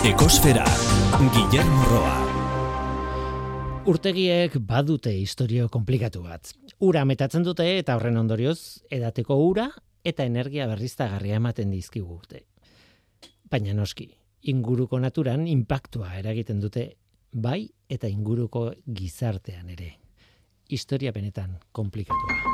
Ekosfera, Guillermo Roa. Urtegiek badute historio komplikatu bat. Ura metatzen dute eta horren ondorioz edateko ura eta energia berriztagarria ematen dizkigute. Baina noski, inguruko naturan inpaktua eragiten dute bai eta inguruko gizartean ere. Historia benetan komplikatua.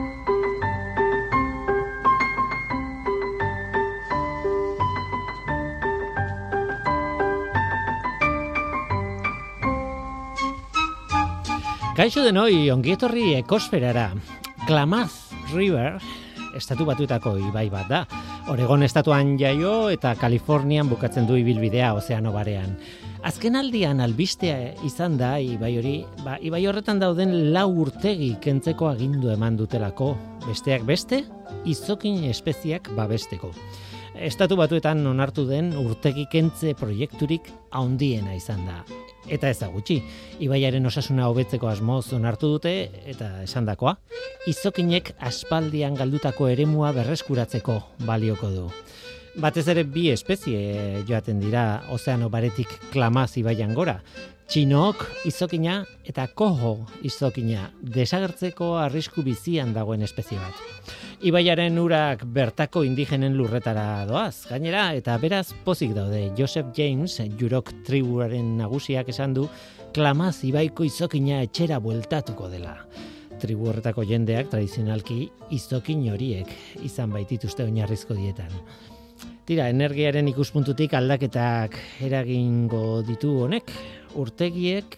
Kaixo denoi, ongietorri ekosferara. Klamath River, estatu batuetako ibai bat da. Oregon estatuan jaio eta Kalifornian bukatzen du ibilbidea ozeano barean. Azken aldian albistea izan da ibai hori, ibai horretan dauden 4 urtegi kentzeko agindu eman dutelako. Besteak beste, izokin espeziak babesteko. Estatu batuetan onartu den urtegi kentze proiekturik handiena izan da. Eta ez da gutxi, ibaiaren osasuna hobetzeko asmoz onartu dute eta esandakoa, izokinek aspaldian galdutako eremua berreskuratzeko balioko du. Batez ere 2 espezie joaten dira ozeano baretik Klamath ibaian gora. Txinook izokina eta koho izokina, desagertzeko arrisku bizian dagoen espezie bat. Ibaiaren urak bertako indigenen lurretara doaz, gainera, eta beraz pozik daude. Joseph James, Yurok tribuaren nagusiak esan du, Klamath ibaiko izokina etxera bueltatuko dela. Tribu horretako jendeak tradizionalki izokin horiek izan baitituzte oinarrizko dietan. Tira, energiaren ikuspuntutik aldaketak eragingo ditu honek, urtegiek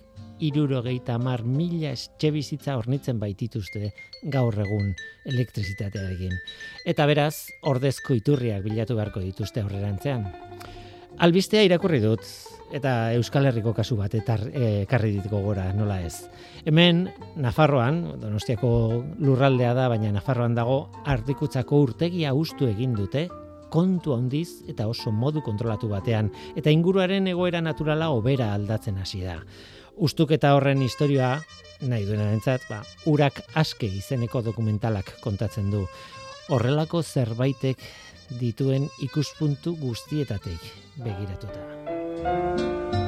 70.000 etxebizitza hornitzen baitituzte gaur egun elektrizitatearekin. Eta beraz, ordezko iturriak bilatu beharko dituzte aurrerantzean. Albistea irakurri dut, eta Euskal Herriko kasu bat ekarri dit gogora, nola ez. Hemen, Nafarroan, Donostiako lurraldea da, baina Nafarroan dago, Ardikutzako urtegia hustu egin dute, kontu handiz eta oso modu kontrolatu batean, eta inguruaren egoera naturala hobera aldatzen hasi da. Ustuketa horren historia, nahi duenarentzat, urak aske izeneko dokumentalak kontatzen du. Horrelako zerbaitek dituen ikuspuntu guztietatik begiratuta.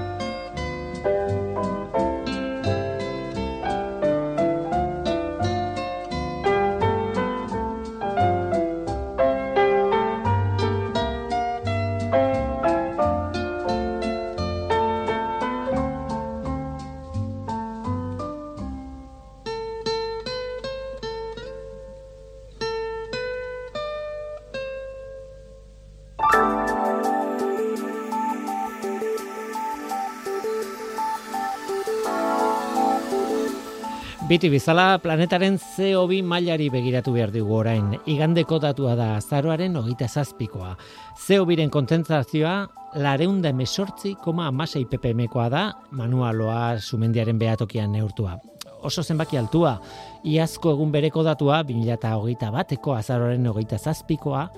Biti bizala, planetaren CO2 mailari begiratu behar dugu orain. Igandeko datua da azaroaren 27koa. CO2-ren kontzentrazioa 418,6 ppmkoa da, manualoa sumendiaren behatokian neurtua. Oso zenbaki altua, iazko egun bereko datua, 2021ko azaroaren 27koa,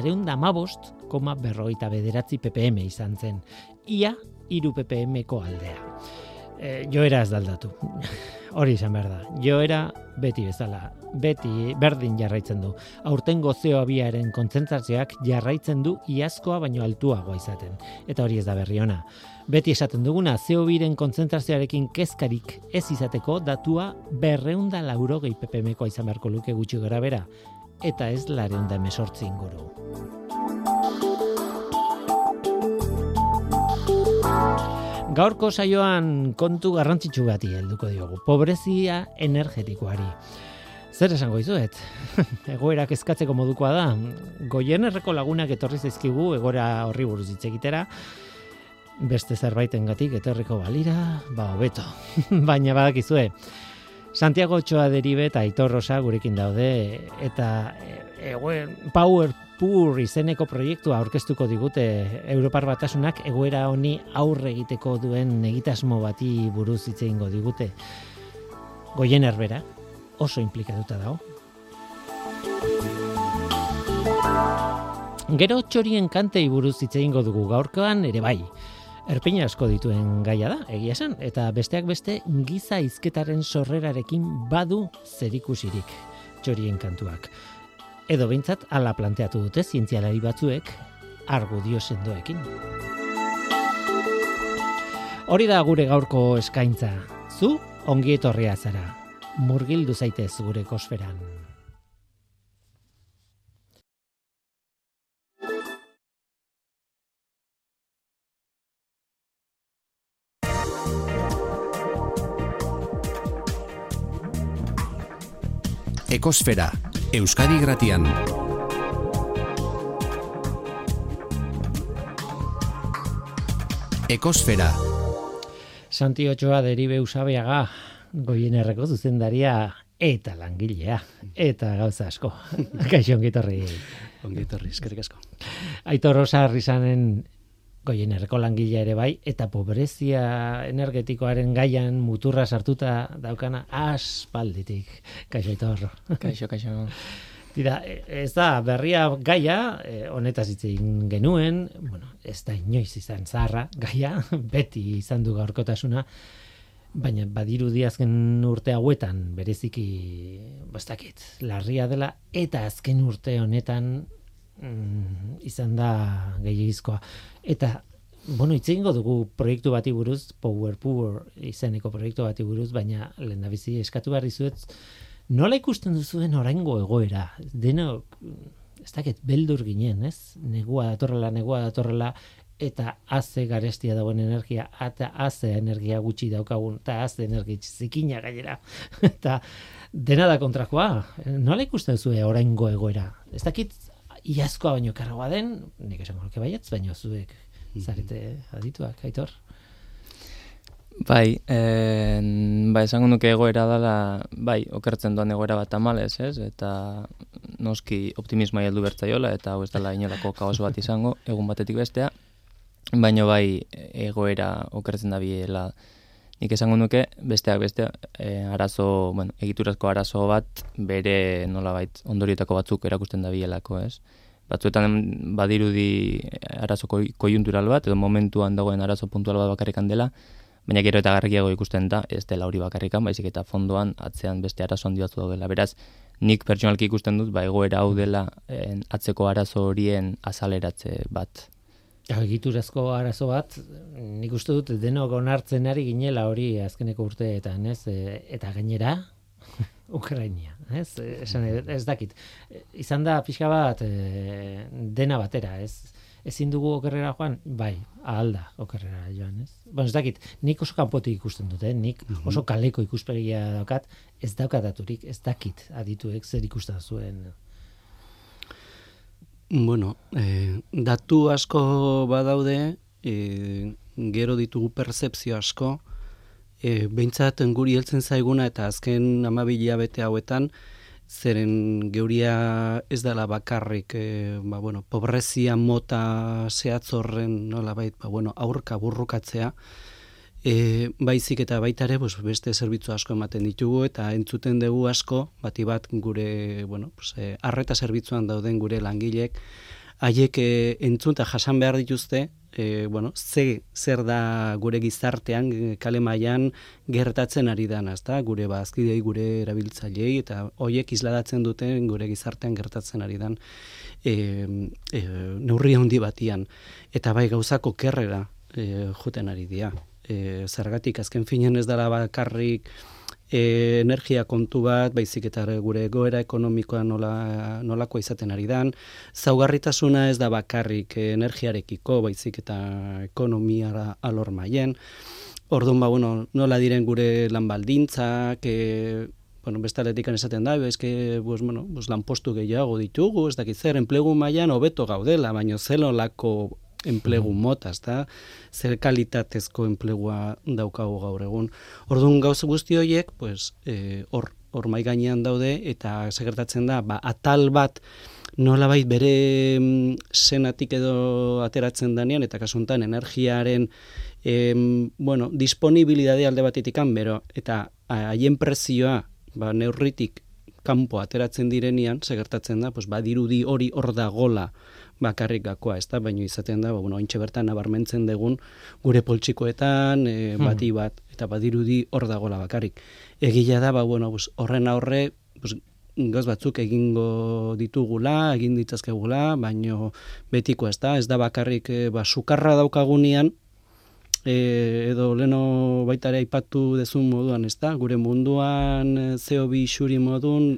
415,49 ppm izan zen. Ia 3 ppmko aldea. Joera ez daldatu. Hori izan behar da. Joera beti bezala, beti berdin jarraitzen du. Aurtengo CO2-aren kontzentrazioak jarraitzen du iazkoa baino altuagoa izaten. Eta hori ez da berri ona. Beti esaten duguna, CO2-ren kontzentrazioarekin kezkarik ez izateko datua 280 ppmkoa izan beharko luke gutxi gora bera. Eta ez 418 inguru. Gaurko saioan kontu garrantzitsu bati helduko diogu. Pobrezia energetikoari. Zer esango dizuet? Egoerak eskatzeko modukoa da. Goiernerreko lagunak etorri zaizkigu egoera horri buruz hitz egitera. Beste zerbaitengatik etorriko balira, hobeto. Baina badakizue. Santiago Ochoa Deribe eta Aitor Rosa gurekin daude eta Power Pur izeneko proiektua aurkeztuko digute Europar Batasunak egoera honi aurre egiteko duen egitasmo bati buruz hitz egingo digute. Goiener bera oso inplikatuta dago. Gero txorien kantei buruz hitz egingo dugu gaurkoan ere bai. Erpin asko dituen gaia da, egia esan, eta besteak beste giza hizketaren sorrerarekin badu zerikusirik txorien kantuak. Edo behintzat hala planteatu dute zientzialari batzuek argudio sendoekin. Hori da gure gaurko eskaintza. Zu ongi etorria zara. Murgildu zaitez gure ekosferan. Ekosfera, Euskadi Irratian. Ekosfera. Santi Otxoa Deribe Usabiaga, Goienerreko zuzendaria eta langilea, eta gauza asko. Kaixo ongi etorri. Ongi etorri, eskerrik asko. Aitor Rosa Arrizaren Goienerreko langilea ere bai, eta pobrezia energetikoaren gaian muturra sartuta daukana aspalditik. Kaixo Aitor. Kaixo. Tira, ez da berria gaia, honetaz hitz egin genuen, bueno, ez da inoiz izan zaharra gaia, beti izan du gaurkotasuna, baina badirudi azken urte hauetan bereziki, bastakit, larria dela, eta azken urte honetan izan da gehiagizkoa. Eta, bueno, hitz egingo dugu proiektu bati buruz, Power izeneko proiektu bati buruz, baina lehendabizi eskatu behar dizuet, nola ikusten duzuen oraingo egoera? Denok, ez dakit, beldur ginen, ez? Negua datorrela, eta haze garestia dagoen energia, eta haze energia gutxi daukagun, eta haze energia zikina gainera. Eta dena da kontrakoa. Nola ikusten duzue oraingo egoera? Ez dakit, iazkoa baino karragoa den, nik esango nuke baietz, baino zuek zarete adituak, Aitor? Bai, esango nuke egoera dela, bai, okertzen doan egoera bat tamalez, ez? Eta noski optimismoa heldu bertzaiola, eta hau ez dela inolako kaos bat izango, egun batetik bestea, baino bai egoera okertzen da biela. Nik esango nuke, besteak beste, egiturazko arazo bat, bere nolabait ondorietako batzuk erakusten da bielako, ez? Batzuetan badirudi arazo koiuntural bat, edo momentuan dagoen arazo puntual bat bakarrikan dela, baina gero eta garrikiago ikusten da, ez dela hori bakarrikan, baizik eta fondoan atzean beste arazo handi batzu daudela. Beraz, nik pertsonalki ikusten dut, egoera hau dela atzeko arazo horien azaleratze bat. Egiturazko arazo bat, nik uste dut denok onartzen ari ginela hori azkeneko urteetan, ez? Eta gainera, Ukrainia, ez? Ez dakit. Izan da pixka bat dena batera, ez? Ezin dugu okerrera joan? Bai, ahal da okerrera joan, ez? Bueno, ez dakit, nik oso kanpotik ikusten dut, nik oso kaleko ikuspegia daukat, ez daukat daturik, ez dakit adituek zer ikusten zuen. Bueno, datu asko badaude, gero ditugu pertzepzio asko, behintzat guri heltzen zaiguna eta azken 12 hilabete hauetan, zeren geuria ez dela bakarrik, pobrezia mota zehatz horren nolabait, aurka burrukatzea, baizik eta baita ere beste zerbitzu asko ematen ditugu eta entzuten dugu asko, bati bat gure arreta zerbitzuan dauden gure langilek, haiek entzun eta jasan behar dituzte, zer da gure gizartean, kale mailan gertatzen ari dana, ezta? Gure bazkidei, gure erabiltzailei, eta hoiek isladatzen duten gure gizartean gertatzen ari dan neurri handi batian. Eta bai gauzako kerrera joten ari dira. Zergatik azken finean ez dela bakarrik energia kontu bat, baizik eta gure egoera ekonomikoa nolakoa izaten ari dan. Zaugarritasuna ez da bakarrik energiarekiko, baizik eta ekonomiara alor mailen. Orduan, nola diren gure lanbaldintzak, bestaletik esaten da, lanpostu gehiago ditugu, ez dakit zer, enplegu mailan hobeto gaudela, baina zelolako enplegu mota, ezta? Zer kalitatezko enplegua daukagu gaur egun. Orduan gauza guzti horiek, hor mai gainean daude, eta segertatzen da, atal bat nolabait bere senatik edo ateratzen danean, eta kasu honetan energiaren disponibilidade alde batetikan, eta haien prezioa neurritik kanpo ateratzen direnean, segertatzen da, badirudi hori hor dagola bakarrik gakoa, ez da, baina izaten da, ointxe bertan nabarmentzen dugun gure poltsikoetan, bati bat, eta badirudi hor dagola bakarrik. Egila da, horren aurre, gauz batzuk egingo ditugula, egin ditzazkegula, baina betiko ez da bakarrik sukarra daukagunean, edo leno baita ere aipatu dezun moduan, ezta? Gure munduan CO2 isuri modun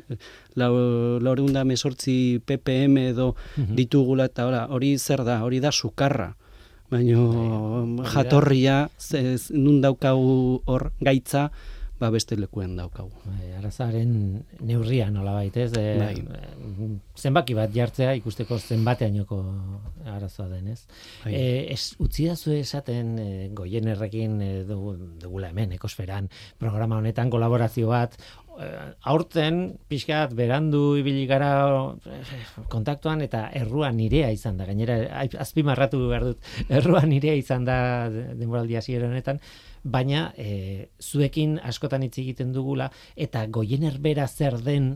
418 ppm edo ditugula, eta hori zer da? Hori da sukarra. Baina jatorria, nun daukagu hor gaitza, beste lekuen daukagu. Arazaren neurria nolabait, ez? Zenbaki bat jartzea ikusteko zenbateainoko arazoa den, ez? Utzi dazu esaten Goienerrekin dugula hemen, Ekosferan, programa honetan kolaborazio bat, aurten pixkat berandu ibili gara kontaktuan eta errua nirea izan da. Gainera, azpimarratu behar dut, errua nirea izan da denboraldi hasiera honetan, baina zuekin askotan hitz egiten dugula eta Goiener bera zer den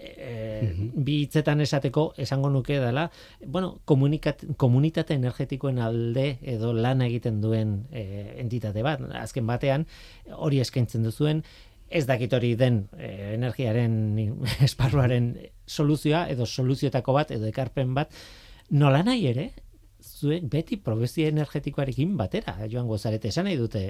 bi hitzetan esateko esango nuke dela, bueno, komunitate energetikoen alde edo lana egiten duen entitate bat. Azken batean hori eskaintzen duzuen, ez dakit hori den energiaren esparruaren soluzioa edo soluzioetako bat edo ekarpen bat, nola nahi ere, zuek beti probezia energetikoarekin batera joango zarete. Esan nahi dute,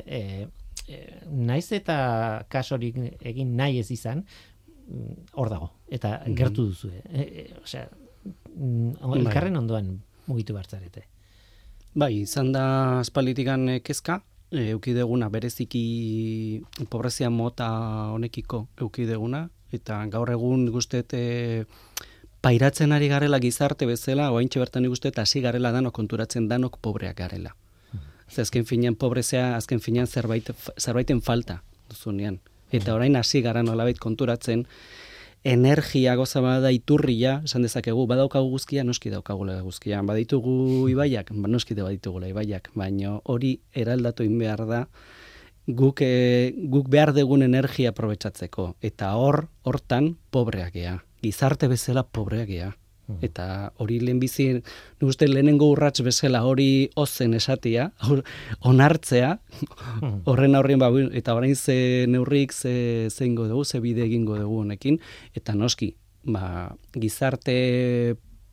naiz eta kasorik egin nahi ez izan, hor dago, eta gertu duzue. Osea, elkarren ondoan mugitu bartzarete. Bai, izan da aspalditikan kezka, eukideguna bereziki pobrezia mota honekiko eukideguna, eta gaur egun guztet pairatzen ari garela gizarte bezala, oaintxe bertan igustet hasi garela danok konturatzen danok pobreak garela. Azken finean pobrezia, azken finean zerbaiten falta duzunean. Eta orain hasi gara nolabait konturatzen, energia goza bada iturria, esan dezakegu, badaukagu guzkia, noski daukagula guzkia. Baditugu ibaiak, noski baditugula ibaiak, baina hori eraldatu behar da, guk behar dugun energia aprobetxatzeko. Eta hortan pobreak gea. Gizarte bezala pobreak gea. Eta hori lehenbizi, uste lehenengo urrats bezala hori ozen esatia, onartzea, horren aurrien, eta orain ze neurrik, ze ingo dugu, ze bide egingo dugu honekin, eta noski, gizarte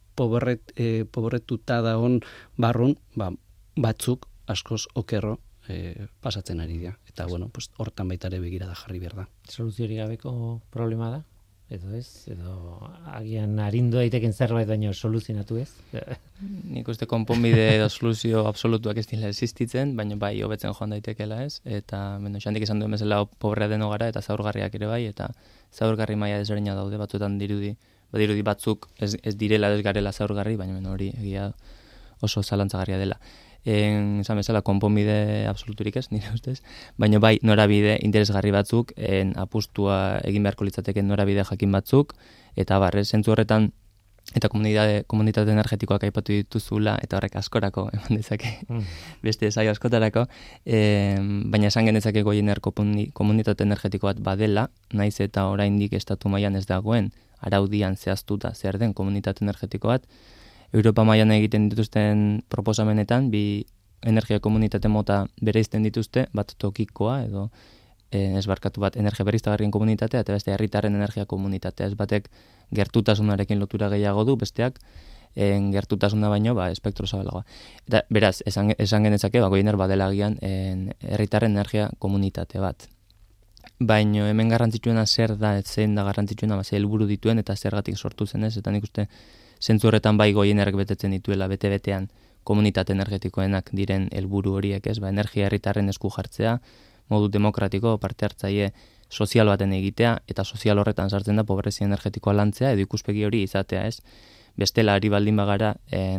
pobretuta dagoen barrun, batzuk askoz okerro pasatzen ari dira. Eta bueno, hortan baita ere begirada jarri behar da. Soluziorik gabeko problema da? Edo ez, edo agian arindu daiteken zerbait baino soluzionatu ez? Nik uste konponbide edo soluzio absolutuak ez dira existitzen, baina bai hobetzen joan daitekela ez, eta Xandik esan duen bezala pobrea deno gara eta zaurgarriak ere bai, eta zaurgarri maila desberdina daude, batzuetan dirudi batzuk ez direla ez garela zaurgarri, baina hori egia oso zalantzagarria dela. Esan bezala, konponbide absoluturik ez, nire ustez, baina bai norabide interesgarri batzuk, apustua egin beharko litzateken norabide jakin batzuk, eta zentzu horretan, eta komunitate energetikoak aipatu dituzula, eta horrek askorako, eman dezake, beste saio askotarako, baina esan genezake Goiener komunitate energetiko bat badela, naiz eta oraindik estatu mailan ez dagoen, araudian zehaztuta zer den komunitate energetiko bat, Europa mailan egiten dituzten proposamenetan, bi energia komunitate mota bereizten dituzte, bat tokikoa edo esbarkatu bat energia berriztagarrien komunitatea eta beste herritarren energia komunitatea. Ez batek gertutasunarekin lotura gehiago du, besteak gertutasuna baino espektro zabalagoa. Eta beraz, esan genezake Goiener badela agian herritarren energia komunitate bat. Baino hemen garrantzitsuena zer da, zein da garrantzitsuena, ze helburu dituen eta zergatik sortu zen ez, eta nik uste zentzu horretan bai Goienerrek betetzen dituela bete-betean komunitate energetikoenak diren helburu horiek, ez? Energia herritarren esku jartzea, modu demokratiko, parte hartzaile sozial baten egitea, eta sozial horretan sartzen da pobrezia energetikoa lantzea, edo ikuspegi hori izatea, ez? Bestela ari baldin bagara,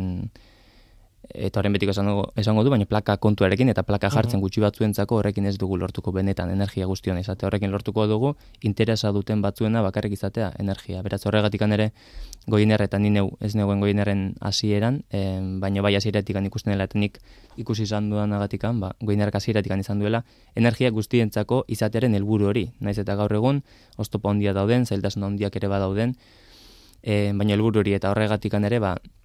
eta horren betiko esango du, baina plaka kontuarekin eta plaka jartzen gutxi batzuentzako horrekin ez dugu lortuko benetan energia guztion izate. Horrekin lortuko dugu interesa duten batzuena bakarrik izatea energia. Beraz horregatik ere Goiener eta ni ez neuen Goienerren hasieran, baina bai hasieratik ikusten dela eta nik ikusi izan dudanagatik, Goienerrak hasieratik izan duela energia guztientzako izatearen helburu hori. Naiz eta gaur egun oztopo handia dauden, zailtasun handiak ere badauden, baina helburu hori eta horregatik ere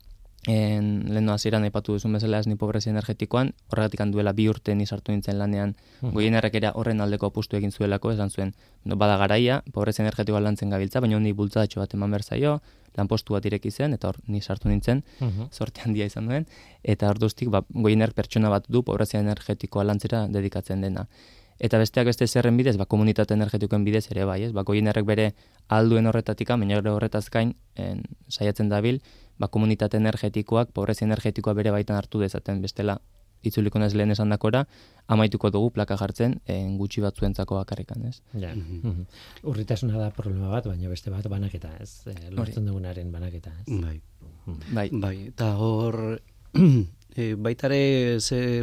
lehen hasieran aipatu duzun bezala ez ni pobrezia energetikoan, horregatik duela 2 urte ni sartu nintzen lanean, Goienerrek ere horren aldeko apustu egin zuelako, esan zuen, bada garaia, pobrezia energetikoa lantzen gabiltza, baina honi bultzadatxo bat eman behar zaio, lanpostu bat ireki zen, eta hor ni sartu nintzen, sorte handia izan duen, eta orduztik goiener pertsona bat du pobrezia energetikoa lantzera dedikatzen dena. Eta besteak beste zerren bidez, komunitate energetikoen bidez ere bai, ez? Goienerrek bere alduen horretatik, baina horretaz gain saiatzen dabil, komunitate energetikoak pobrezia energetikoa bere baitan hartu dezaten, bestela itzuliko naiz lehen esandakora, amaituko dugu plaka jartzen gutxi batzuentzako bakarrikan, ez? Ja. Urritasuna da problema bat, baina beste bat banaketa, ez? Lortzen dugunaren banaketa, ez? Bai. Eta hor baitare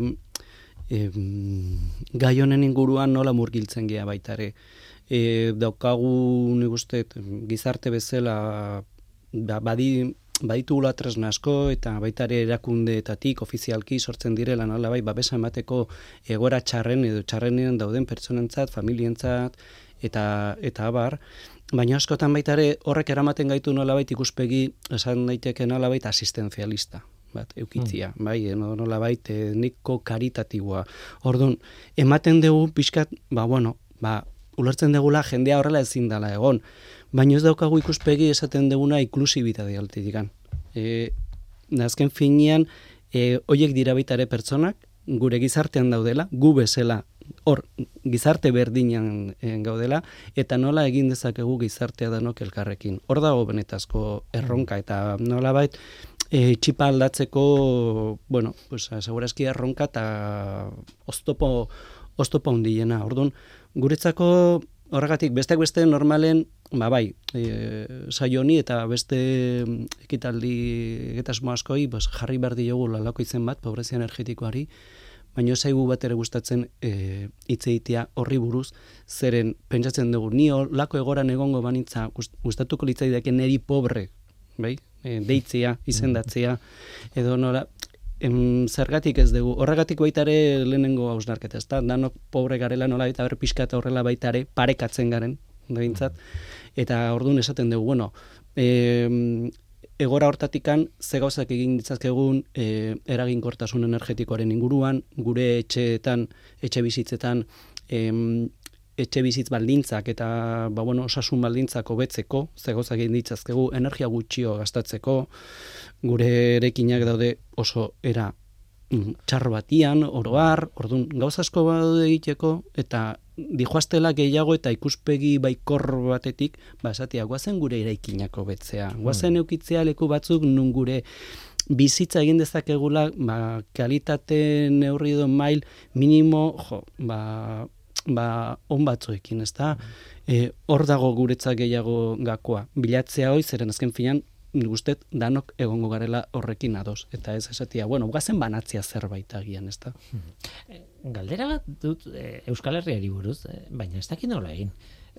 gai honen inguruan nola murgiltzen gea baitare. Daukagu nik uste gizarte bezala baditugula tresna asko eta baita ere erakundeetatik ofizialki sortzen direla nolabait babesa emateko egoera txarren edo txarrenean dauden pertsonentzat, familientzat eta abar, baina askotan baita ere horrek eramaten gaitu nolabait ikuspegi esan daiteke nolabait asistenzialista bat eukitzia, bai, nolabait niko karitatiboa. Orduan, ematen dugu pixkat, ulertzen dugula jendea horrela ezin dela egon. Baina ez daukagu ikuspegi esaten duguna inklusibitate altitikan. Azken finean, horiek dira baita ere pertsonak, gure gizartean daudela, gu bezala, hor, gizarte berdinan gaudela, eta nola egin dezakegu gizartea danok elkarrekin. Hor dago benetazko erronka, eta nola bait, txipa aldatzeko, segurazki erronka eta oztopo handiena. Orduan, guretzako horregatik, besteak beste normalen, saio honi eta beste ekitaldi egitasmo askoi, jarri behar diogu lalako izen bat, pobrezia energetikoari, baina zaigu bat ere gustatzen hitz egitea horri buruz, zeren pentsatzen dugu, ni lako egoran egongo banitza gustatuko litzaidake neri pobre, bai? Deitzea, izendatzea, edo nola, zergatik ez dugu, horregatik baita ere lehenengo hausnarketa, ez da, danok pobre garela nola, eta pixka eta horrela baita ere parekatzen garen, eta orduan esaten dugu, egora hortatikan ze gauzak egin ditzazkegun eraginkortasun energetikoaren inguruan, gure etxeetan, etxe bizitzetan, etxe bizitz baldintzak eta osasun baldintzak hobetzeko, ze gauzak egin ditzazkegu, energia gutxio gastatzeko, gure erekinak daude oso era txarro batian, oroar, orduan gauza asko badaude egiteko, eta dijoaztela gehiago eta ikuspegi baikor batetik, esatia, guazen gure eraikinak hobetzea, guazen eukitzea leku batzuk nun gure bizitza egin dezakegula, kalitate neurri edo mail minimo, on batzuekin, ez da? Hor dago guretzak gehiago gakoa. Bilatzea hoi, zeren azken finan, guztet, danok egongo garela horrekin ados. Eta ez esatia, gazen banatzea zerbait agian, ez da? Galdera bat dut Euskal Herriari buruz, baina ez dakit nola egin.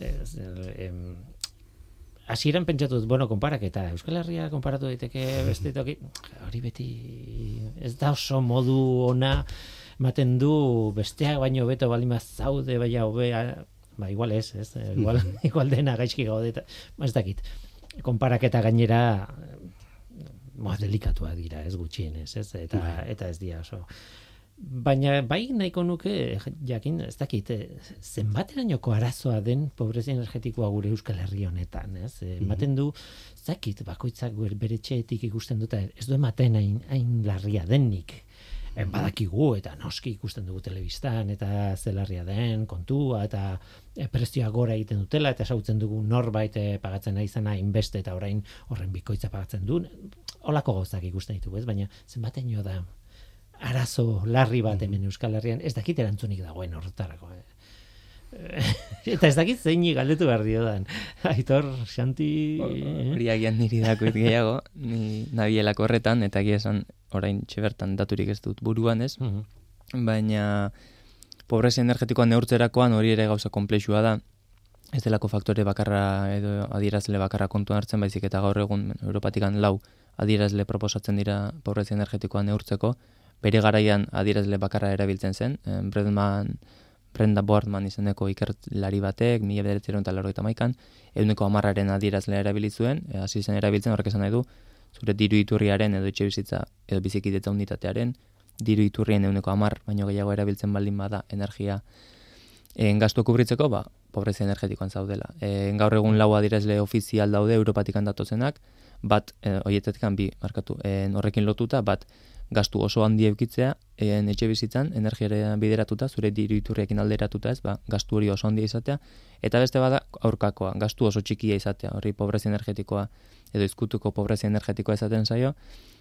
Hasieran pentsatut, konparaketa, Euskal Herria konparatu daiteke beste toki, hori beti ez da oso modu ona ematen du besteak baino beto balima zaude, baina hobea, igual ez, igual dena gaizki gaude, ez dakit. Konparaketa gainera delikatua dira, ez gutxienez, ez? Eta ez dira oso. Baina bai nahiko nuke jakin, ez dakit, zenbaterainoko arazoa den pobrezia energetikoa gure Euskal Herri honetan, ez? Ematen du, ez dakit, bakoitzak bere etxeetik ikusten dut, ez du ematen hain larria denik. Badakigu eta noski ikusten dugu telebistan eta zelarria den kontua eta prezioa gora egiten dutela eta sautzen dugu norbait pagatzen nahi izana inbeste eta orain horren bikoitza pagatzen du. Holako gauzak ikusten ditugu, ez? Baina zenbateino da arazo larri bat hemen Euskal Herrian, ez dakit erantzunik dagoen horretarako. Eta ez dakit zeini galdetu behar diodan. Aitor, Xanti... Hori agian niri dakoit gehiago, ni nabielako horretan, eta egia esan orain txebertan daturik ez dut buruan ez, baina pobrezia energetikoa neurtzerakoan hori ere gauza konplexua da, ez delako faktore bakarra edo adierazle bakarra kontuan hartzen, baizik eta gaur egun Europatikan 4 adierazle proposatzen dira pobrezia energetikoa neurtzeko, bere garaian adierazle bakarra erabiltzen zen, Brenda Boardman izeneko ikerlari batek, 1991an, 110aren adierazlea erabili zuen, hasi zen erabiltzen, horrek esan nahi du, zure diru iturriaren edo etxe bizitza edo bizikidetza unitatearen, diru iturrien 110 baino gehiago erabiltzen baldin bada energia gastu kubritzeko, pobrezia energetikoan zaudela. Gaur egun 4 adierazle ofizial daude Europatik datozenak, bat, horietatik bi, horrekin lotuta, bat, gastu oso handi eukitzea, etxe bizitzan, energiara bideratuta, zure diru iturriekin alderatuta ez, gastu hori oso handia izatea, eta beste bada aurkakoa, gastu oso txikia izatea, hori pobrezia energetikoa, edo izkutuko pobrezia energetikoa izaten zaio,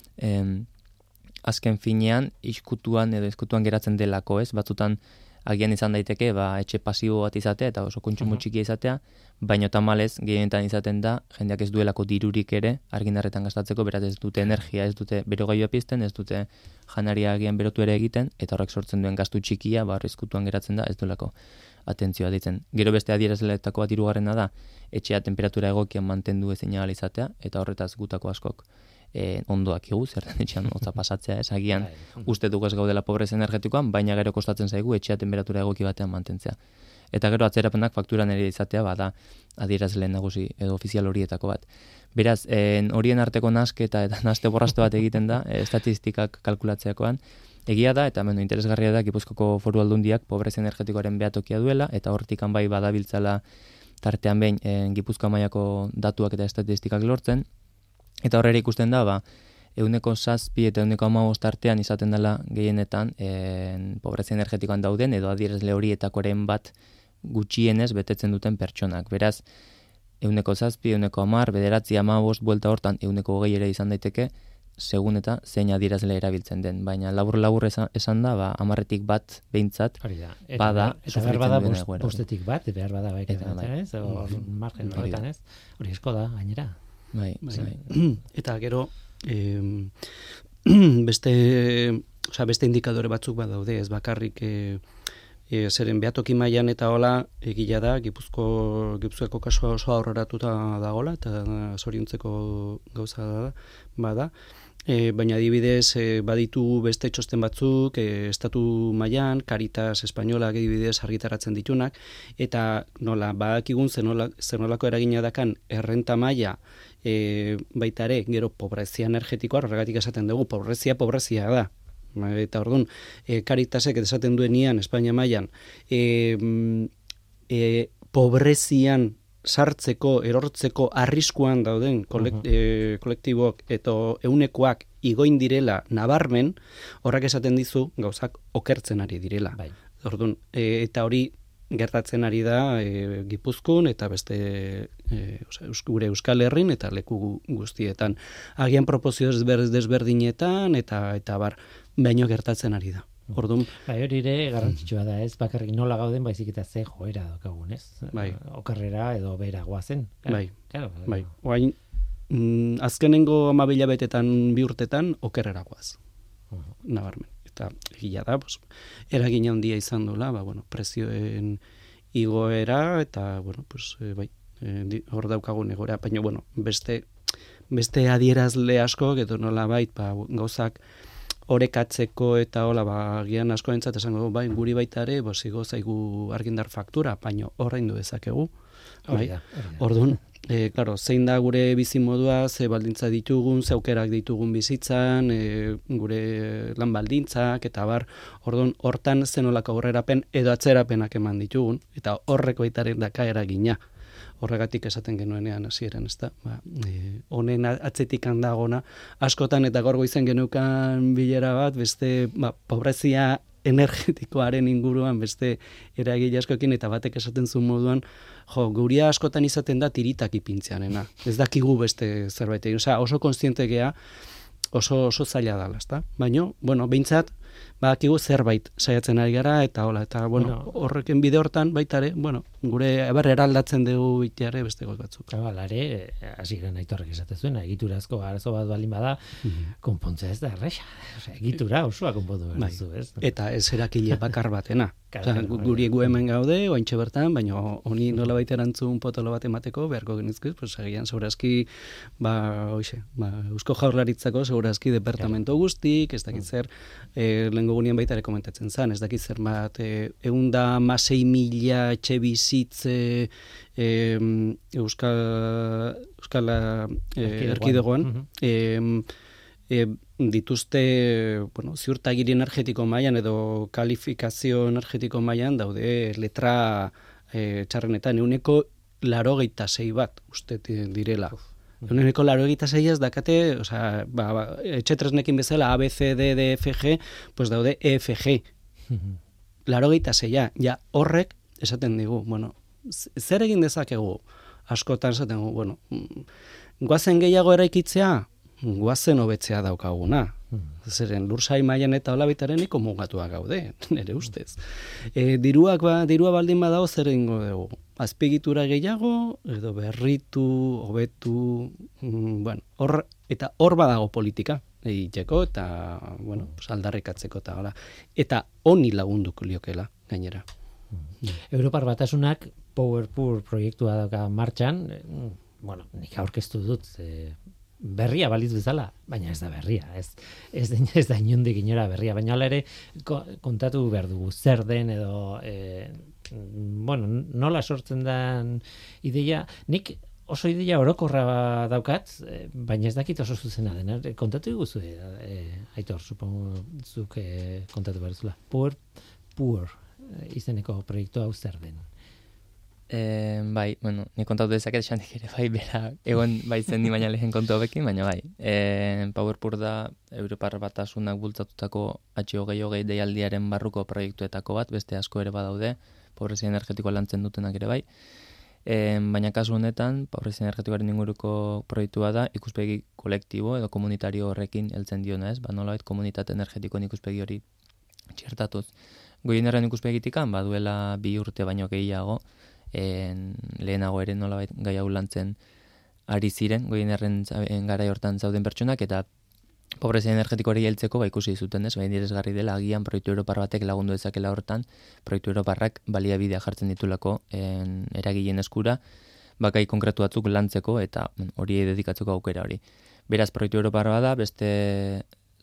azken finean, izkutuan geratzen delako ez, batzutan agian izan daiteke, etxe pasibo bat izatea, eta oso kontsumo txikia izatea, baina tamalez, gehienetan izaten da, jendeak ez duelako dirurik ere, argindarretan gastatzeko, beraz ez dute energia, ez dute berogailua pizten, ez dute janaria agian berotu ere egiten, eta horrek sortzen duen gastu txikia, izkutuan geratzen da, ez duelako atentzioa ditzen. Gero beste adierazleetako bat hirugarrena da, etxea temperatura egokian mantendu ezin ahal izatea, eta horretaz gutako askok ondoak igu, zer den etxean hotza pasatzea, ez agian uste dugu ez gaudela pobrezia energetikoan, baina gero kostatzen zaigu etxea temperatura egoki batean mantentzea. Eta gero atzerapenak fakturan ere izatea, da adierazle nagusi edo ofizial horietako bat. Beraz, horien arteko nasketa eta naste borrasto bat egiten da, estatistikak kalkulatzeakoan, egia da, eta interesgarria da, Gipuzkoako Foru Aldundiak pobrezia energetikoaren behatokia duela, eta hortikan bai badabiltzala tartean behin Gipuzkoa mailako datuak eta estatistikak lortzen, eta horrela ikusten da, 7% eta 15% artean izaten dela gehienetan pobrezia energetikoan dauden, edo adierazle horietakoren bat gutxienez betetzen duten pertsonak. Beraz, 7%, 10%, 9%, 15%, buelta hortan 20% ere izan daiteke, segun eta zein adierazle erabiltzen den. Baina labur esan da, 10-tik bat behintzat, bada sufritzen duen egoera. Bostetik bat, behar bada baiketan, ez? Hor margen horretan, ez? Hori esko da, gainera. Bai. Eta gero, beste indikadore batzuk badaude, ez bakarrik zeren behatoki mailan eta hola egila da, Gipuzkoako kasua oso aurreratuta dagola, eta zoriontzeko gauza bada. Baina adibidez baditu beste txosten batzuk, estatu mailan, Caritas Espainolak adibidez argitaratzen ditunak, eta nola badakigun zenolako eragina dakan errenta maila baita ere, gero pobrezia energetikoa, horregatik esaten dugu, pobrezia da. Eta orduan, Caritasek esaten duenian, Espainia mailan, pobrezian sartzeko, erortzeko arriskuan dauden kolektiboak eta eunekoak igoin direla nabarmen, horrek esaten dizu gauzak okertzen ari direla. Bai. Orduan, eta hori gertatzen ari da Gipuzkoan eta beste gure Euskal Herrin eta leku guztietan. Agian proportzio desberdinetan eta bar, baino gertatzen ari da. Orduan, bai, hori ere garrantzitsua da, ez? Bakarrik nola gauden, baizik eta ze joera daukagun, ez? Bai. Okerrera edo bera goazen. Bai. Claro. Bai. Oain, azkenengo 12 hilabetetan 2 urtetan okerrera goaz. Nabarmen. Eta egia da, eragina handia izan dola, prezioen igoera eta bai, hor daukagun egoera, baina beste adierazle asko edo nola bait, gauzak orekatzeko eta hola, gian asko entzat esango, bai, guri baita ere, igo zaigu argindar faktura, baina horrein du dezakegu. Bai? Orduan, claro, zein da gure bizimodua, ze baldintza ditugun, ze aukerak ditugun bizitzan, gure lan baldintzak, eta bar, orduan, hortan zenolako aurrerapen edo atzerapenak eman ditugun, eta horreko baitaren daka eragina. Horregatik esaten genuenean hasieran, ezta? Honen atzetik handagona, askotan eta gaur goizen genukan bilera bat, beste pobrezia energetikoaren inguruan beste eragile askoekin eta batek esaten zuen moduan, guria askotan izaten da tiritak ipintzeanena. Ez dakigu beste zerbait egin. Oso kontziente gea, oso zaila dela, ezta? Baina, behintzat, badakigu zerbait saiatzen ari gara eta hola, eta horreken bide hortan baita ere, gure eraldatzen dugu iteare beste goz batzuk. Lare, hasiera Aitorrek esaten zuen, egiturazko arazo bat balin bada, konpontzea ez da erresa. Egitura osoa konpondu behar duzu, ez? Eta ez erakile bakar batena. Guri gu hemen gaude, oaintxe bertan, baina honi nola baita erantzun potolo bat emateko, beharko genizkiz, egian segurazki, Eusko Jaurlaritzako segurazki departamento guztik, ez dakit zer, lehengo gunean baita ere komentatzen zen, ez dakit zer bat, 106.000 etxe bizitze Euskal Erkidegoan, dituzte ziurtagiri energetiko mailan edo kalifikazio energetiko mailan daude letra txarrenetan 86% bat uste direla. Euneko 86 dakate, osea, etxetresnekin bezala A, B, C, D, D, F, G, pues daude EFG. 86, ja horrek esaten digu, bueno, zer egin dezakegu? Askotan esaten dugu, bueno, guazen gehiago eraikitzea, guazen hobetzea daukaguna. Zeren lursai mailan eta olabitareniko mugatuak gaude, nire ustez. Dirua baldin badago zer egingo dugu? Azpiegitura gehiago, edo berritu, hobetu, bueno, hor badago politika egiteko eta, bueno, aldarrikatzeko eta hala. Eta honi lagunduko liokela, gainera. Europar Batasunak PowerPool proiektua dauka martxan, bueno, nik aurkeztu dut, berria balitz bezala, baina ez da berria, ez da inondik inora berria, baina hala ere kontatu behar dugu zer den edo bueno, nola sortzen den ideia, nik oso ideia orokorra daukat, baina ez dakit oso zuzena den, kontatu iguzu, Aitor, supongo zuk kontatu behar zula. PowerPool izeneko proiektu hau zer den? Bai, bueno, ni kontatu dezaket esandik ere, bai, bera, egon baitzen ni baina lehen kontu hobekin, baina bai. PowerPool da Europar Batasunak bultzatutako H20 deialdiaren barruko proiektuetako bat, beste asko ere badaude, pobrezia energetikoa lantzen dutenak ere bai. Baina kasu honetan, pobrezia energetikoaren inguruko proiektua da, ikuspegi kolektibo edo komunitario horrekin heltzen diona, ez? Nolabait komunitate energetikoen ikuspegi hori txertatuz. Goienerren ikuspegitikan, baduela 2 urte baino gehiago, lehenago ere nolabait gai hau lantzen ari ziren, goienerren garai hortan zauden pertsonak, eta pobrezia energetikoari heltzeko ikusi zuten, ez? Interesgarri dela agian proiektu europar batek lagundu dezakela hortan, proiektu europarrak baliabidea jartzen ditulako eragileen eskura, gai konkretu batzuk lantzeko eta hori dedikatzeko aukera hori. Beraz, proiektu europar bada, beste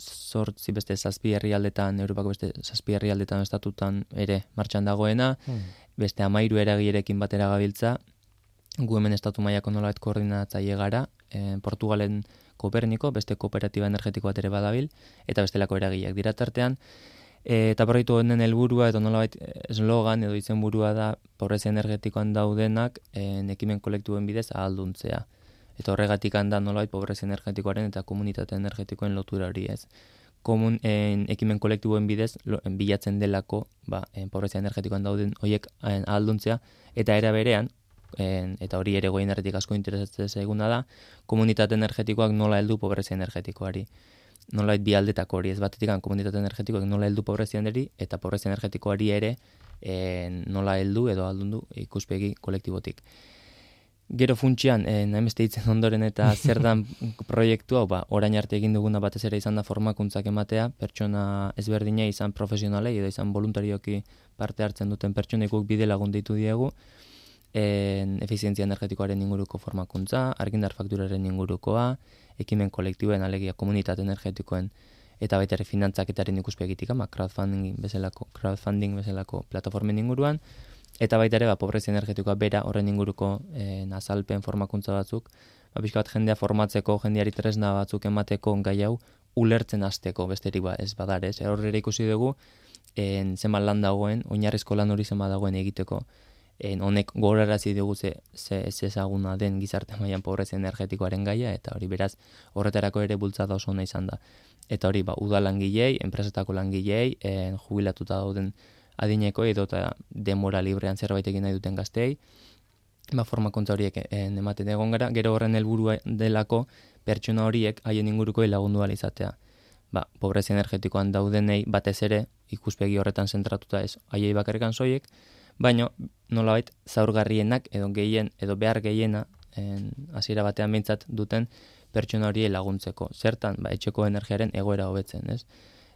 7 herrialdetan, Europako beste 7 herrialdetan estatutan ere martxan dagoena, beste 13 eragilerekin batera gabiltza, gu hemen estatu mailako nolabait koordinatzaile gara, Portugalen Koperniko, beste kooperatiba energetiko bat ere badabil, eta bestelako eragileak dira tartean, eta proiektu honen helburua edo nolabait eslogan edo izenburua da pobrezia energetikoan daudenak ekimen kolektibuen bidez ahalduntzea. Eta horregatik handa nolabait pobrezia energetikoaren eta komunitate energetikoen lotura hori, ez. Ekimen kolektiboen bidez bilatzen delako pobrezia energetikoan dauden horiek ahalduntzea, eta era berean, eta hori ere goienerretik asko interesatzen zaiguna da, komunitate energetikoak nola heldu pobrezia energetikoari. Nolabait bi aldetako hori, ez batetik komunitate energetikoak nola heldu pobrezianeri, eta pobrezia energetikoari ere nola heldu edo ahaldundu ikuspegi kolektibotik. Gero funtsian, nahimeste ditzen ondoren eta zer dan proiektu hau, orain arte egin duguna batez ere izan da formakuntzak ematea, pertsona ezberdina izan profesionalei edo izan voluntarioki parte hartzen duten pertsonaikuk bide lagun deitu diegu, efizientzia energetikoaren inguruko formakuntza, argindar fakturaren ingurukoa, ekimen kolektiboen alegia komunitate energetikoen eta baita ere finantzaketaren ikuspegitik, crowdfunding bezalako plataformen inguruan, eta baita ere pobrezia energetikoa bera horren inguruko azalpen formakuntza batzuk, pixka bat jendea formatzeko, jendeari tresna batzuk emateko gai hau ulertzen hasteko besterik ez badarez. Horrela ikusi dugu zenbat lan dagoen, oinarrizko lan hori zenbat dagoen egiteko. Honek gogorarazi dugu ze ezaguna den gizarte mailan pobrezia energetikoaren gaia, eta hori beraz horretarako ere bultzada oso ona izan da. Eta hori udal langilei, enpresetako langilei, jubilatuta dauden adineko edo eta denbora librean zerbait egin nahi duten gazteei, formakuntza horiek ematen egon gara, gero horren helburua delako pertsona horiek haien inguruko lagundu ahal izatea. Pobrezia energetikoan daudenei batez ere ikuspegi horretan zentratuta ez haiei bakarrikan soiek, baina nolabait zaurgarrienak edo gehien edo behar gehiena hasiera batean behintzat duten pertsona horiei laguntzeko. Zertan, etxeko energiaren egoera hobetzen, ez?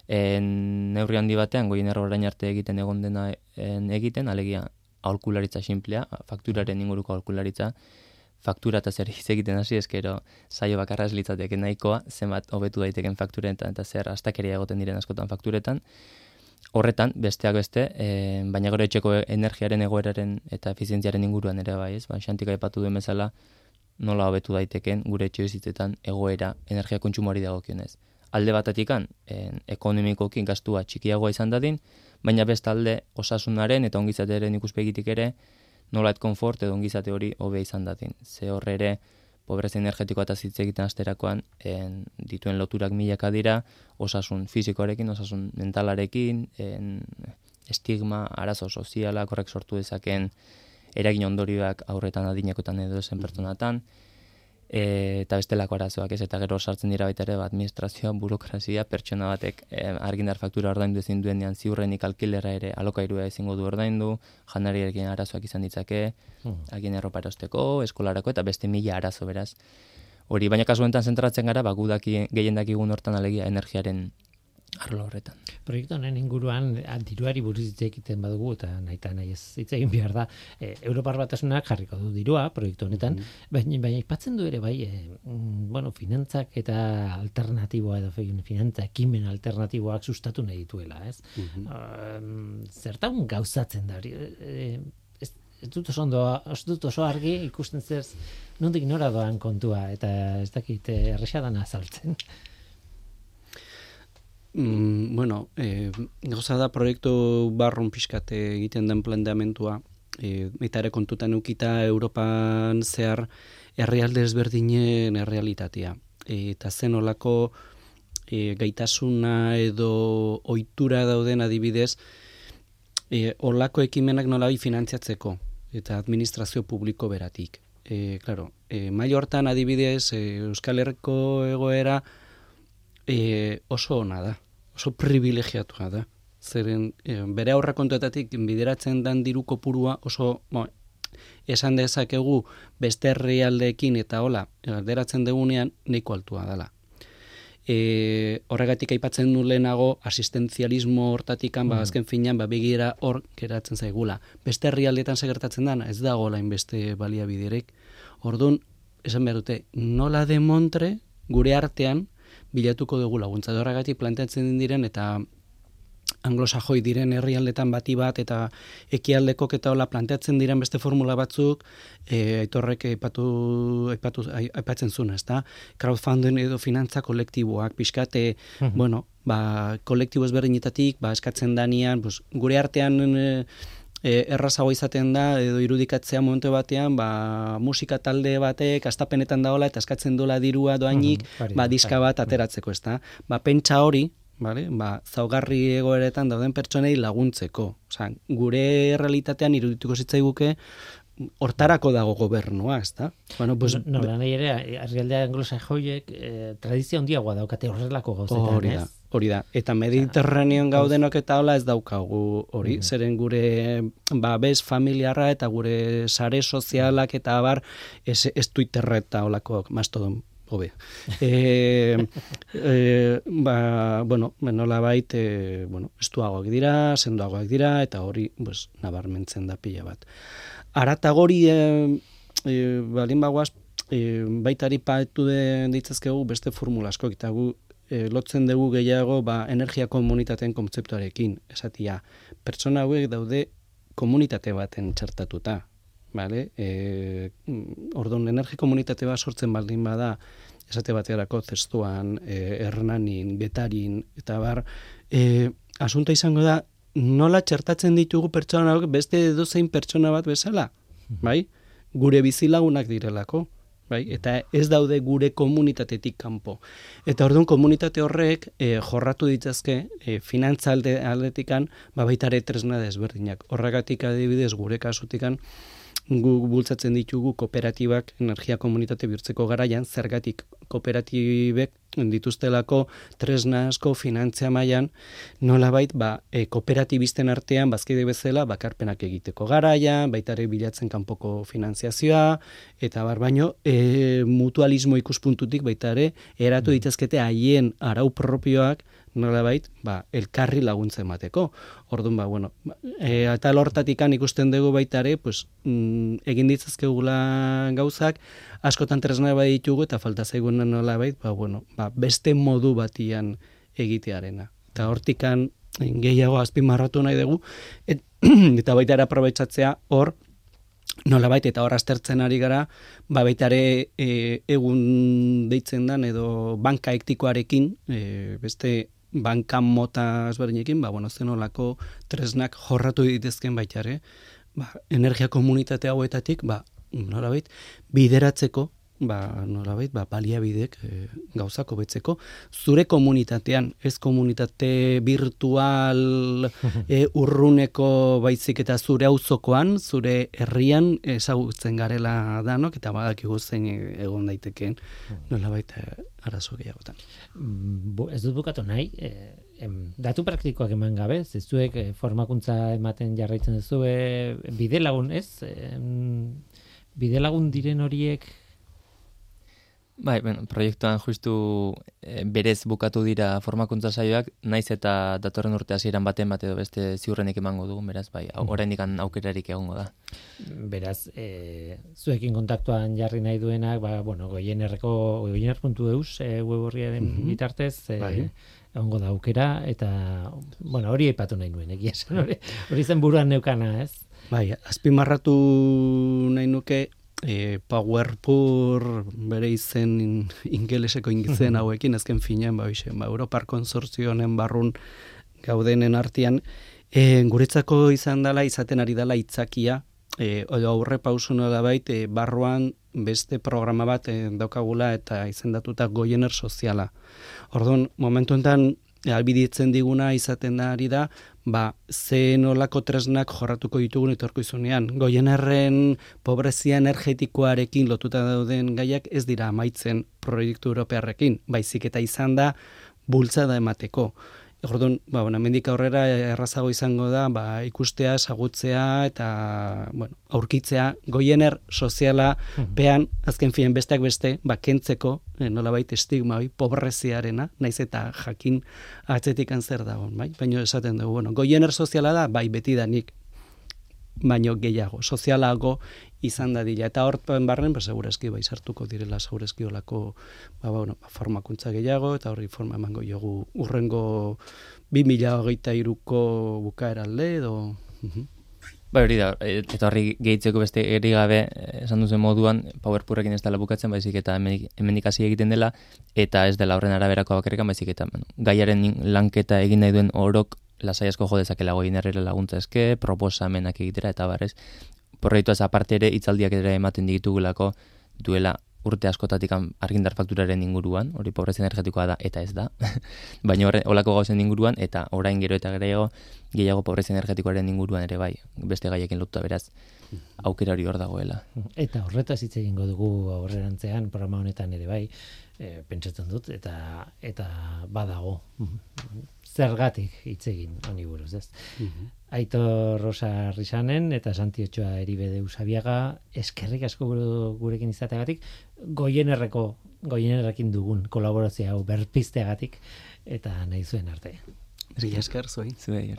Neurri handi batean, goienerra orain arte egiten egon dena egiten, alegia aholkularitza simplea, fakturaren inguruko aholkularitza, faktura eta zer egiten hasi eskero saio bakarra ez litzateke nahikoa, zenbat hobetu daiteken fakturetan eta zer astakeria egoten diren askotan fakturetan. Horretan, besteak beste, baina gero etxeko energiaren egoeraren eta efizientziaren inguruan ere bai, ez? Xantik aipatu duen bezala, nola hobetu daiteken gure etxebizitzetan egoera energia kontsumoari dagokionez. Alde batetikan, ekonomikoki gastua txikiagoa izan dadin, baina bestalde osasunaren eta ongizatearen ikuspegitik ere nolait konfort edo ongizate hori hobe izan dadin. Ze horre ere pobrezia energetikoa eta hitz egiten asterakoan dituen loturak milaka dira, osasun fisikoarekin, osasun mentalarekin, estigma, arazo sozialak horrek sortu dezakeen eragin ondorioak aurretan adinekotan edo zen pertsonatan, eta bestelako arazoak ez, eta gero sartzen dira baita ere, administrazioa, burokrazia, pertsona batek argindar faktura ordaindu ezin duenean ziurrenik alkilera ere alokairua ezingo du ordaindu, janariarekin arazoak izan ditzake, agin erropa erosteko, eskolarako, eta beste mila arazo beraz. Hori, baina kasu honetan zentratzen gara, gehien dakigun hortan alegia energiaren arlo horretan. Proiektu honen inguruan diruari buruz hitz egiten badugu eta nahi ez hitz egin behar da. Europar Batasunak jarriko du dirua proiektu honetan, baina aipatzen du ere bai, finantzak eta alternatiboa edo finantza ekimen alternatiboak sustatu nahi dituela, ez? Zertan gauzatzen da hori? Ez dut oso argi ikusten zer nondik nora doan kontua eta ez dakit erresa dana azaltzen. Gauza da proiektu barrun pixkat egiten den planteamentua, eta ere kontutan ukita Europan zehar herrialde ezberdinen errealitatea. Eta zen olako gaitasuna edo ohitura dauden adibidez, olako ekimenak nolai finantziatzeko eta administrazio publiko beratik. Maila hortan adibidez Euskal Herriko egoera oso ona da, oso privilegiatua da. Zeren bere aurrekontuetatik bideratzen den diru kopurua oso, esan dezakegu beste herrialdeekin eta hola, alderatzen dugunean nahiko altua dela. Horregatik aipatzen du lehenago asistentzialismo hortatikan, azken finean, begira hor geratzen zaigula. Beste herrialdeetan segertatzen dana, ez dago lain beste baliabiderek. Orduan, esan behar dute, nola demontre gure artean bilatuko dugu laguntza. Horregatik planteatzen diren eta anglosajoi diren herrialdetan bati bat eta ekialdekok eta hola planteatzen diren beste formula batzuk, Aitorrek aipatzen zuen, ezta? Crowdfunding edo finantza kolektiboak, pixkate, kolektibo ezberdinetatik, eskatzen danian, gure artean errazago izaten da, edo irudikatzea momentu batean, musika talde batek astapenetan daola eta eskatzen dola dirua doainik, diska bat ateratzeko, ezta? Pentsa hori, zaugarri egoeretan dauden pertsonei laguntzeko. Gure realitatean irudituko zitzaiguke hortarako dago gobernua, ezta? Nahi ere, herrialde anglosajoiek tradizio handiagoa daukate horrelako gauzetan, ez? Hori da, eta Mediterranean gaudenok eta hola ez daukagu hori, zeren gure babes familiarra eta gure sare sozialak eta abar ez Twitterra eta holako mastodon hobe. Nolabait, estuagoak dira, sendoagoak dira, eta hori nabarmentzen da pila bat. Aratagori, balin bagoaz, baitari paetu ditzazkegu beste formula asko, eta gu lotzen dugu gehiago energia komunitateen kontzeptuarekin, esatia. Pertsona hauek daude komunitate baten txertatuta. Orduan, energia komunitate bat sortzen baldin bada, esate baterako zestuan, Hernanin, Getarin, eta asunta izango da, nola txertatzen ditugu pertsona hauek beste edozein pertsona bat bezala, gure bizilagunak direlako, eta ez daude gure komunitatetik kanpo. Eta orduan komunitate horrek jorratu ditzazke finantza aldetikan baitare tresna desberdinak. Horregatik adibidez gure kasutikan gu bultzatzen ditugu kooperatibak energia komunitate bihurtzeko garaian, zergatik kooperatibek dituztelako tresna asko finantzia mailan, nolabait kooperatibisten artean bazkide bezala bakarpenak egiteko garaian, baita ere bilatzen kanpoko finanziazioa, eta baino mutualismo ikuspuntutik baita ere eratu ditazkete haien arau propioak nolabait, elkarri laguntza emateko. Orduan, eta lortatikan ikusten dugu baita ere, egin ditzazkegula gauzak, askotan tresna bai ditugu eta falta zaigunen nolabait, beste modu batian egitearena. Eta hortikan gehiago azpimarratu nahi dugu, eta baita ere aprobetxatzea hor, nolabait eta hor aztertzen ari gara, baita ere egun deitzen dan edo banka ektikoarekin, beste banka mota ezberdinekin, zenolako tresnak jorratu ditezken baita ere, energia komunitate hauetatik, nolabait, bideratzeko nolabait, baliabidek gauzako betzeko, zure komunitatean, ez komunitate virtual urruneko baizik eta zure auzokoan, zure herrian ezagutzen garela danok, eta badakigu zein egon daitekeen, nolabait arazo gehiagotan. Ez dut bukatu nahi, datu praktikoak eman gabe, zuek formakuntza ematen jarraitzen duzue, bidelagun, ez? Bidelagun diren horiek? Bai, proiektuan justu berez bukatu dira formakuntza saioak, naiz eta datorren urte hasieran baten bat edo beste ziurrenik emango dugu, beraz, bai, oraindik aukerarik egongo da. Beraz, zuekin kontaktuan jarri nahi duenak, goiener.eus web horriaren bitartez, egongo da aukera, eta, hori aipatu nahi nuen, egia esan, hori zen buruan neukana, ez? Bai, azpimarratu nahi nuke, PowerPour bere izen ingeleseko izen hauekin, azken finean, Europar Konsortzionen barrun gaudenen artean, guretzako izaten ari dela itzakia, aurre pausu nolabait, barruan beste programa bat daukagula eta izendatuta Goiener soziala. Orduan, momentu enten, albiditzen diguna izaten ari da, ze nolako tresnak jorratuko ditugun etorkizunean. Goienerren pobrezia energetikoarekin lotuta dauden gaiak ez dira amaitzen proiektu europearrekin, baizik eta izan da bultzada emateko. Orduan, hemendik aurrera errazago izango da, ikustea, ezagutzea eta, aurkitzea Goiener soziala pean, azken fien besteak beste, kentzeko, nolabait estigma, pobreziarena, naiz eta jakin atzetik zer dagoen, bai? Baina esaten dugu, Goiener soziala da, beti danik, baino gehiago, sozialago izan dadila. Eta horren barren, segurazki, sartuko direla, segurazki olako, formakuntza gehiago, eta horri forma emango jogu urrengo 2023ko bukaeralde, edo... Hori da, eta horri gehitzeko beste eri gabe, esan duzen moduan, PowerPourrekin ez dela bukatzen, baizik eta hemendik hasi egiten dela, eta ez dela horren araberako bakarrikan, baizik eta gaiaren lanketa egin nahi duen orok lasai asko jo dezakela Goienerrera laguntza eske, proposamenak egitera, eta barrez, proiektuaz aparte ere, hitzaldiak ere ematen ditugulako duela urte askotatik argindar fakturaren inguruan, hori pobrezia energetikoa da eta ez da, baina holako gauzen inguruan, eta orain gero eta gehiago pobrezia energetikoaren inguruan ere bai, beste gaiekin lotuta beraz, aukera hori hor dagoela. Eta horretaz hitz egingo dugu aurrerantzean, programa honetan ere bai, pentsatzen dut, eta badago. Zergatik hitz egin honi buruz, ez? Aitor Rosa Risanen eta Santi Otxoa Eribede Usabiaga, eskerrik asko gurekin izateagatik, Goienerrekin dugun kolaborazio hau berpizteagatik, eta nahi zuen arte. Mila esker, zuei. Zuei.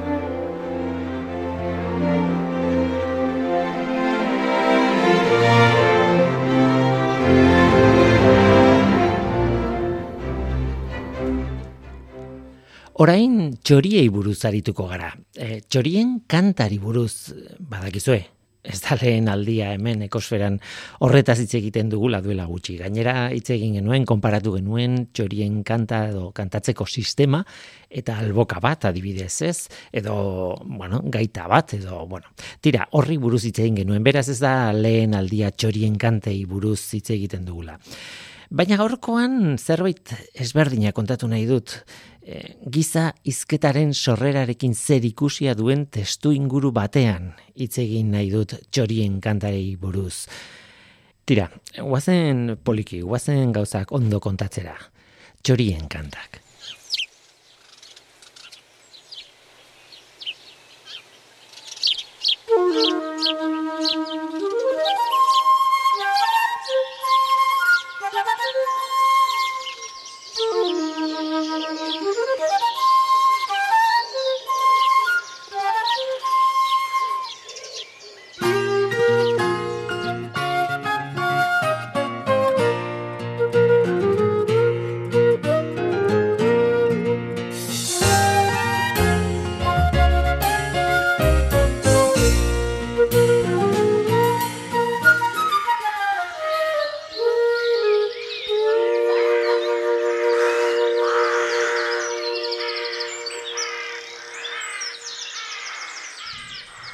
Orain txoriei buruz arituko gara. Txorien kantari buruz, badakizue, ez da lehen aldia hemen ekosferan horretaz hitz egiten dugula duela gutxi. Gainera hitz egin genuen, konparatu genuen txorien kanta edo kantatzeko sistema eta alboka bat adibidez ez, edo, gaita bat, edo, tira, horri buruz hitz egin genuen, beraz ez da lehen aldia txorien kantei buruz hitz egiten dugula. Baina gaurkoan zerbait ezberdina kontatu nahi dut, giza hizketaren sorrerarekin zer ikusia duen testu inguru batean hitz egin nahi dut txorien kantarei buruz. Tira, guazen poliki, guazen gauzak ondo kontatzera. Txorien kantak.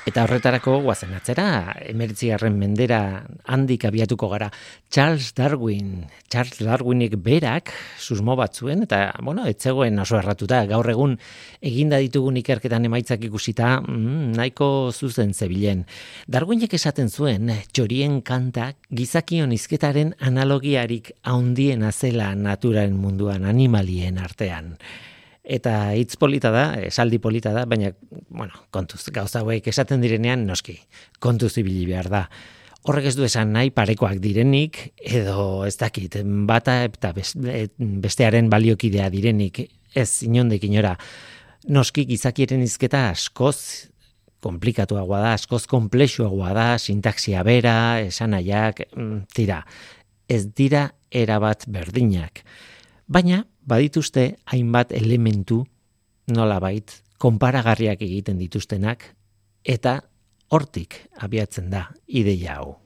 Eta horretarako guazen atzera, 19. mendera handik abiatuko gara. Charles Darwinek berak susmo bat zuen, eta, ez zegoen oso erratuta, gaur egun eginda ditugun ikerketan emaitzak ikusita, nahiko zuzen zebilen. Darwinek esaten zuen, txorien kantak gizakion hizketaren analogiarik handiena zela naturaren munduan, animalien artean. Eta hitz polita da, esaldi polita da, baina, kontuz, gauza hauek esaten direnean, noski, kontuz ibili behar da. Horrek ez du esan nahi parekoak direnik, edo ez dakit, bata eta bestearen baliokidea direnik, ez inondik inora. Noski gizakieren hizketa askoz komplikatuagoa da, askoz konplexuagoa da, sintaxia bera, esanaiak, ez dira erabat berdinak. Baina, badituzte hainbat elementu nolabait konparagarriak egiten dituztenak eta hortik abiatzen da ideia hau.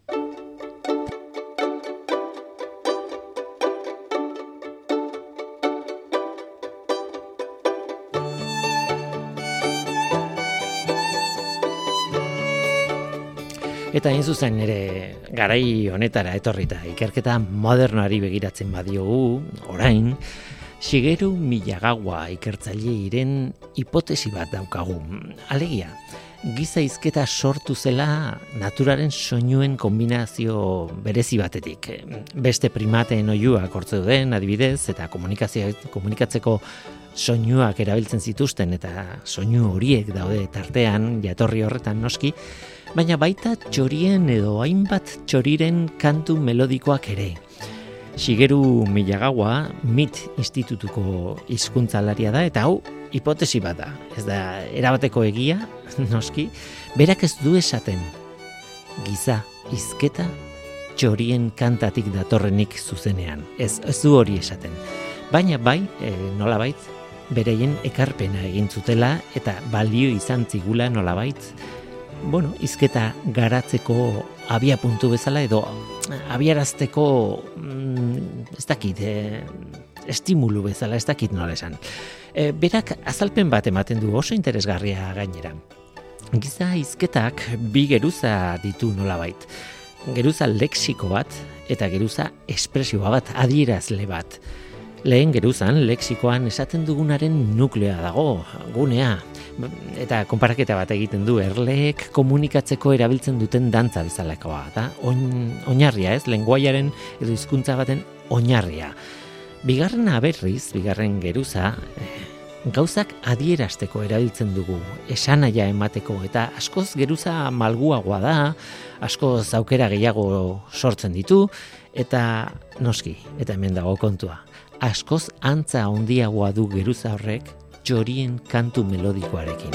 Eta hain zuzen ere garai honetara etorrita ikerketa modernoari begiratzen badiogu, orain, Shigeru Miyagawa ikertzaileiren hipotesi bat daukagu. Alegia, giza hizketa sortu zela naturaren soinuen kombinazio berezi batetik. Beste primateen oihuak hortzeuden adibidez eta komunikatzeko soinuak erabiltzen zituzten eta soinu horiek daude tartean jatorri horretan noski, baina baita txorien edo hainbat txoriren kantu melodikoak ere. Shigeru Miyagawa MIT institutuko hizkuntzalaria da eta hau hipotesi bat da. Ez da erabateko egia, noski, berak ez du esaten giza hizketa txorien kantatik datorrenik zuzenean. Ez du hori esaten. Baina bai, nolabait, bereien ekarpena egin zutela eta balio izan zigula nolabait, hizketa garatzeko abia puntu bezala edo abiarazteko ez dakit, estimulu bezala, ez dakit nola esan. Berak azalpen bat ematen du oso interesgarria gainera. Giza hizketak bi geruza ditu nolabait. Geruza lexiko bat eta geruza espresioa bat, adierazle bat. Lehen geruzan, lexikoan esaten dugunaren nukleoa dago, gunea. Eta konparaketa bat egiten du, erleek komunikatzeko erabiltzen duten dantza bezalakoa. Da? Oinarria ez, lenguaiaren edo hizkuntza baten oinarria. Bigarren geruza, gauzak adierazteko erabiltzen dugu, esanaia emateko, eta askoz geruza malguagoa da, askoz aukera gehiago sortzen ditu, eta noski, eta hemen dago kontua. Askoz antza handiagoa du geruza horrek txorien kantu melodikoarekin.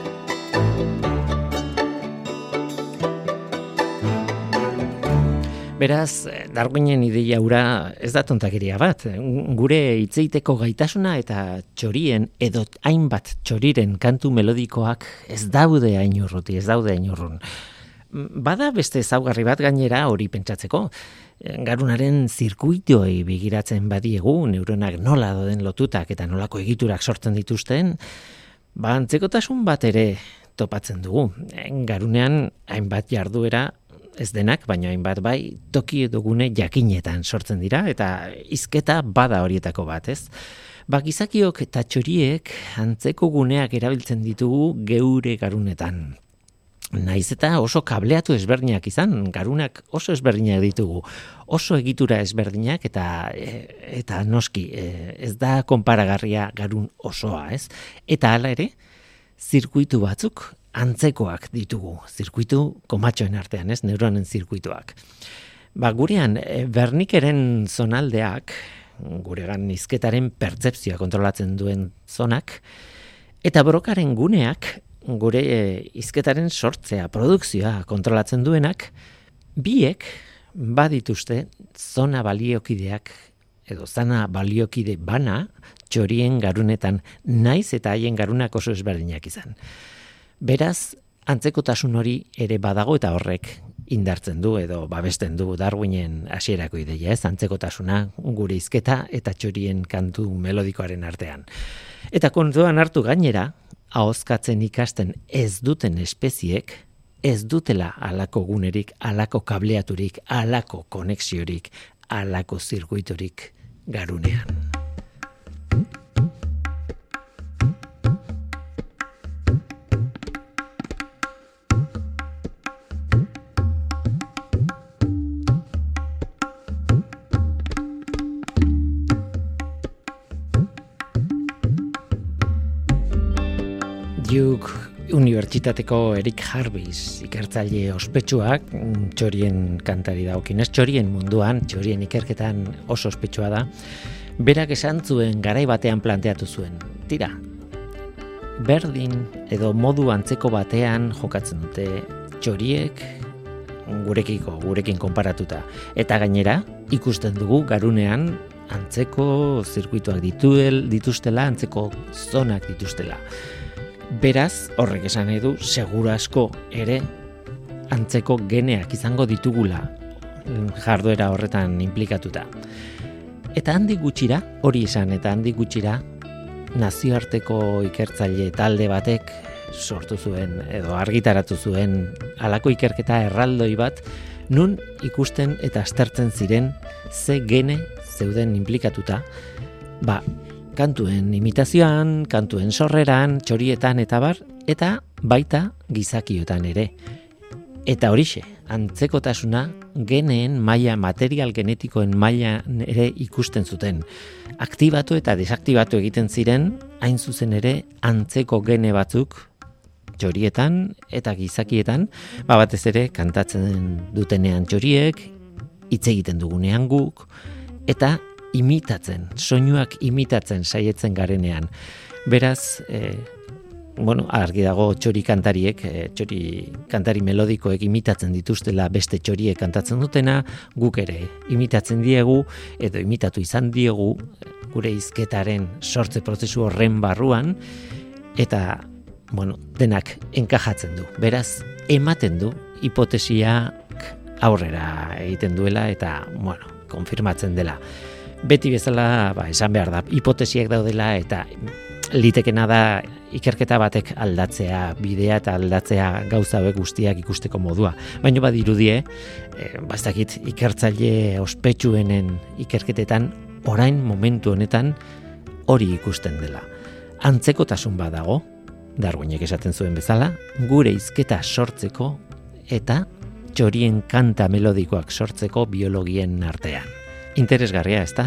Beraz, Darwinen ideia hura ez da tontakeria bat. Gure hitzeiteko gaitasuna eta txorien edo hainbat txoriren kantu melodikoak ez daude hain urrun. Bada beste ezaugarri bat gainera hori pentsatzeko. Garunaren zirkuituei begiratzen badiegu, neuronak nola doden lotutak eta nolako egiturak sortzen dituzten, antzekotasun bat ere topatzen dugu. Garunean hainbat jarduera, ez denak, baina hainbat bai, toki edo gune jakinetan sortzen dira, eta hizketa bada horietako bat, ez? Gizakiok eta txoriek antzeko guneak erabiltzen ditugu geure garunetan. Naiz eta oso kableatu ezberdinak izan, garunak oso ezberdinak ditugu, oso egitura ezberdinak eta noski, ez da konparagarria garun osoa, ez? Eta hala ere, zirkuitu batzuk antzekoak ditugu, zirkuitu komatxoen artean, ez? Neuronen zirkuituak. Gurean, Wernickeren zonaldeak, guregan hizketaren pertzepzioa kontrolatzen duen zonak, eta Brokaren guneak, gure hizketaren sortzea, produkzioa kontrolatzen duenak, biek badituzte zona baliokideak edo zona baliokide bana txorien garunetan, naiz eta haien garunak oso ezberdinak izan. Beraz, antzekotasun hori ere badago eta horrek indartzen du edo babesten du Darwinen hasierako ideia, ez? Antzekotasuna gure hizketa eta txorien kantu melodikoaren artean. Eta kontuan hartu gainera, ahozkatzen ikasten ez duten espeziek ez dutela alako gunerik, alako kableaturik, alako konexiorik, alako zirkuitorik garunean. Duke Unibertsitateko Eric Harvis ikertzaile ospetsuak txorien kantari dagokinez, txorien munduan, txorien ikerketan oso ospetsua da, berak esan zuen garai batean planteatu zuen. Tira, berdin edo modu antzeko batean jokatzen dute txoriek gurekin konparatuta. Eta gainera, ikusten dugu garunean antzeko zirkuituak dituztela, antzeko zonak dituztela. Beraz, horrek esan nahi du, seguru asko ere antzeko geneak izango ditugula jarduera horretan inplikatuta. Eta handik gutxira, hori izan, eta handik gutxira, nazioarteko ikertzaile talde batek sortu zuen, edo argitaratu zuen, halako ikerketa erraldoi bat, nun ikusten eta aztertzen ziren ze gene zeuden inplikatuta, kantuen imitazioan, kantuen sorreran, txorietan eta bar, eta baita gizakiotan ere. Eta horixe, antzekotasuna geneen maila, material genetikoen maila ere ikusten zuten. Aktibatu eta desaktibatu egiten ziren, hain zuzen ere antzeko gene batzuk txorietan eta gizakietan, batez ere kantatzen dutenean txoriek, hitz egiten dugunean guk, eta imitatzen, soinuak imitatzen saietzen garenean. Beraz, argi dago txori kantariek, txori kantari melodikoek imitatzen dituztela beste txoriek kantatzen dutena, guk ere imitatzen diegu, edo imitatu izan diegu gure hizketaren sortze prozesu horren barruan, eta denak enkajatzen du. Beraz, ematen du hipotesiak aurrera egiten duela eta, konfirmatzen dela. Beti bezala, esan behar da, hipotesiak daudela eta litekena da ikerketa batek aldatzea, bidea eta aldatzea gauza hauek guztiak ikusteko modua. Baina badirudie, bastakit ikertzaile ospetsuenen ikerketetan, orain momentu honetan hori ikusten dela. Antzekotasun badago, Darwinek esaten zuen bezala, gure hizketa sortzeko eta txorien kanta melodikoak sortzeko biologien artean. Interesgarria, ezta?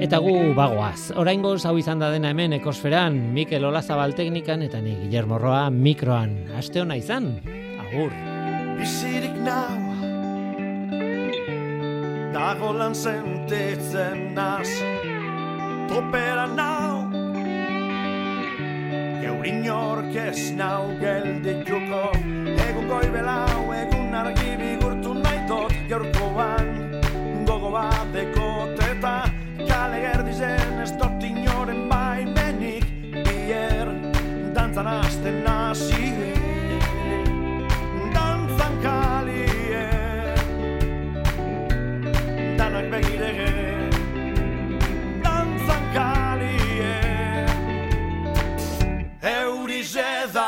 Eta gu bagoaz. Oraingoz hau izan da dena hemen Ekosferan, Mikel Olazabal teknikan eta ni Guillermo Roa mikroan. Aste ona izan. Agur. Bizirik nau dago lan sentitzen naz topera nau geurin orkez nau geldituko egun goibelau egun argi bigurtu naitot gaurkoan gogo bateko teta kale gerdizen ez dut inoren baimenik bier dantzan hasten nazi dantzan kalie danak begirege dantzan kalie eurize da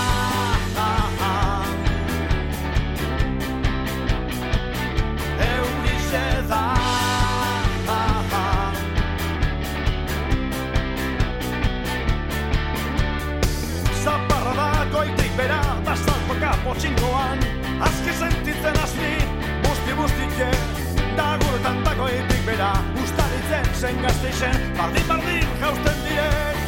eurize da zaparra da goitik bera da saltoka potxingoan azki sentitzen azni busti-bustike da guretan dagoetik bera ustaritzen zen gazteixen bardin jausten direk